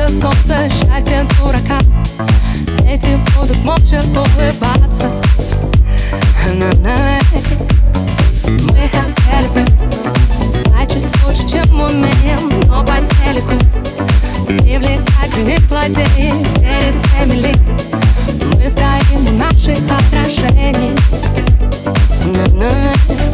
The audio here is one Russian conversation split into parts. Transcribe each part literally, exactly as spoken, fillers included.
это солнце, счастье дурака. Эти будут молча улыбаться. На-на. Мы хотели бы стать чуть лучше, чем умеем, но по телеку привлекательных злодеи перед теми ли мы стоим у наших отражений. На-на.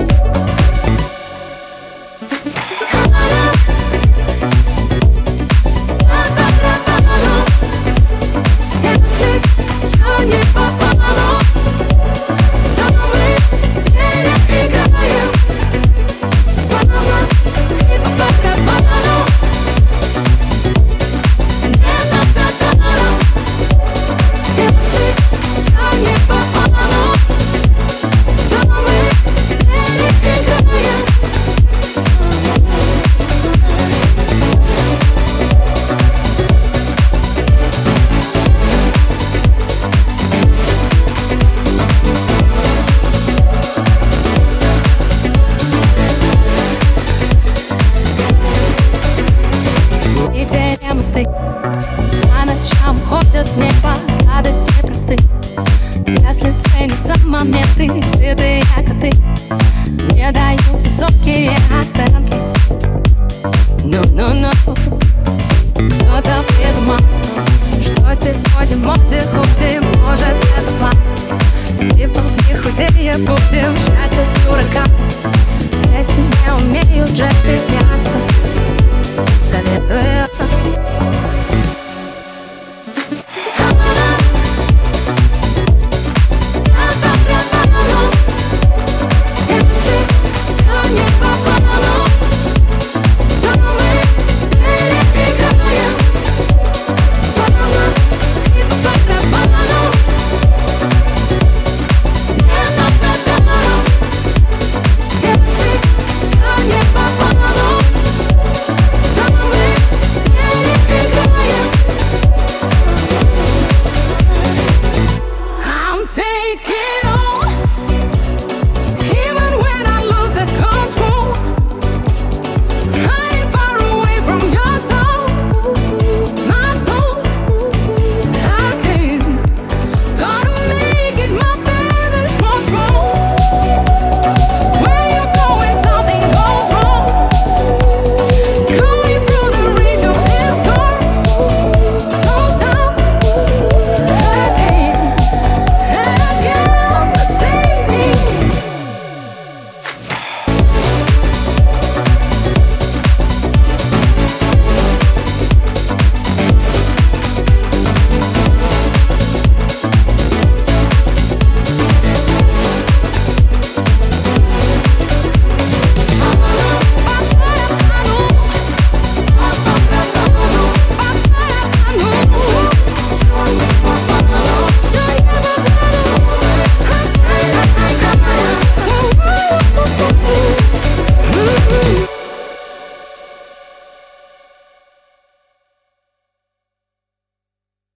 По ночам ходят в небо радости просты. Если ценятся моменты, седые коты не дают высокие оценки. Ну-ну-ну. Кто-то придумал, что сегодня в моде худые. Может, это план, типа не худее будем. Счастье дурака, эти не умеют жесты сняться. Советую